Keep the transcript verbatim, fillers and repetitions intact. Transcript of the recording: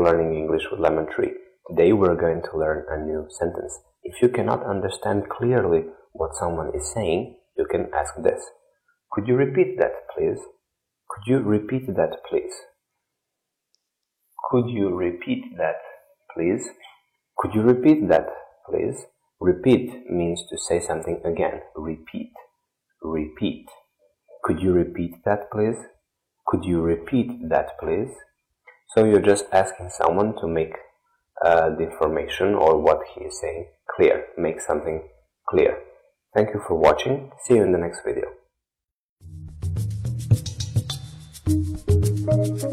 Learning English with Lemon Tree. Today we're going to learn a new sentence. If you cannot understand clearly what someone is saying, you can ask this. Could you repeat that, please? Could you repeat that, please? Could you repeat that, please? Could you repeat that, please? Repeat means to say something again. Repeat. Repeat. Could you repeat that, please? Could you repeat that, please? So you're just asking someone to make uh, the information or what he is saying clear. Make something clear. Thank you for watching. See you in the next video.